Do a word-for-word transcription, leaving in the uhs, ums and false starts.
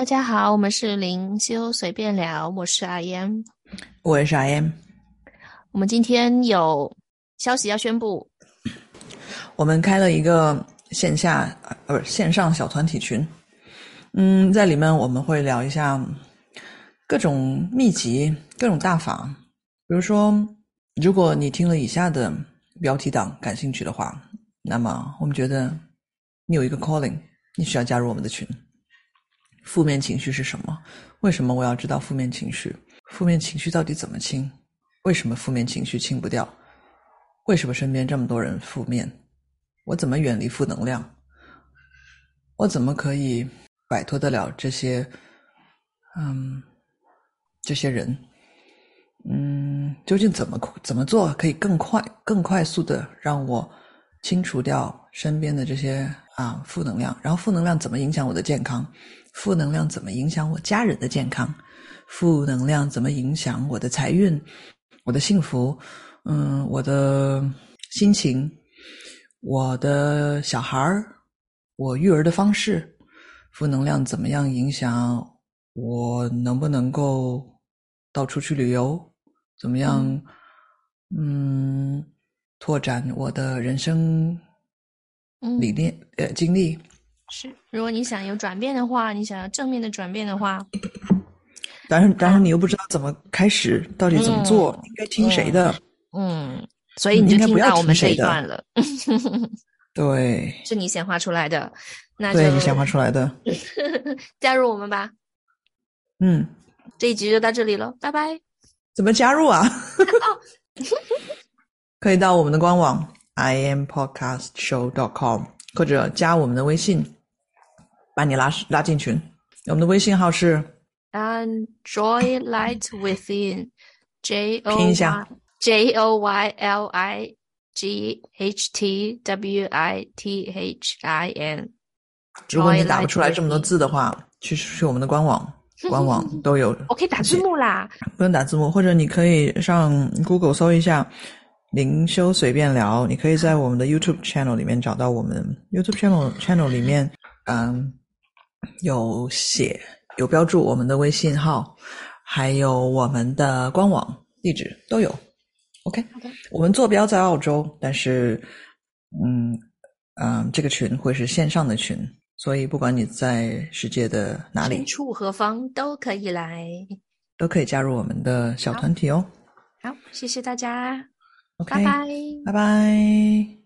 大家好，我们是灵修随便聊，我是阿言， 我也是 I M。 我们今天有消息要宣布， 我们开了一个线下呃不是线上小团体群，嗯，在里面我们会聊一下各种秘籍、各种大法。比如说，如果你听了以下的标题党感兴趣的话，那么我们觉得你有一个 calling， 你需要加入我们的群。负面情绪是什么？为什么我要知道负面情绪？负面情绪到底怎么清？为什么负面情绪清不掉？为什么身边这么多人负面？我怎么远离负能量？我怎么可以摆脱得了这些嗯这些人？嗯，究竟怎么怎么做可以更快更快速的让我清除掉身边的这些啊负能量？然后负能量怎么影响我的健康？负能量怎么影响我家人的健康？负能量怎么影响我的财运、我的幸福、嗯，我的心情、我的小孩儿、我育儿的方式？负能量怎么样影响我能不能够到处去旅游？怎么样嗯拓展我的人生理念、嗯、呃经历？ 是，如果你想有转变的话，你想要正面的转变的话， 但是但是你又不知道怎么开始，到底怎么做， 嗯应该听谁嗯的？ 嗯，所以嗯， 你就应该不要听到我们这听谁的。 一段了， 对， 是你显化出来的，那就对，你显化出来的。 加入我们吧。 嗯， 这一集就到这里了，拜拜。 怎么加入啊？ 哦可以到我们的官网 i am podcast show dot com 或者加我们的微信，把你拉拉进群。我们的微信号是 And joy light within, J 拼 O 一下 Y J O Y L I G H T W I T H I N。 如果你打不出来这么多字的话，去去我们的官网，官网都有。 我可以打字幕啦， 不用打字幕，或者你可以上 Google 搜一下灵修随便聊，你可以在我们的 YouTube channel 里面找到我们 YouTube channel channel 里面，嗯，有写有标注我们的微信号，还有我们的官网地址都有。OK， 我们坐标在澳洲，但是嗯嗯，这个群会是线上的群，所以不管你在世界的哪里， 身处何方都可以来， 都可以加入我们的小团体哦。 好，谢谢大家， OK， 拜拜。 拜拜。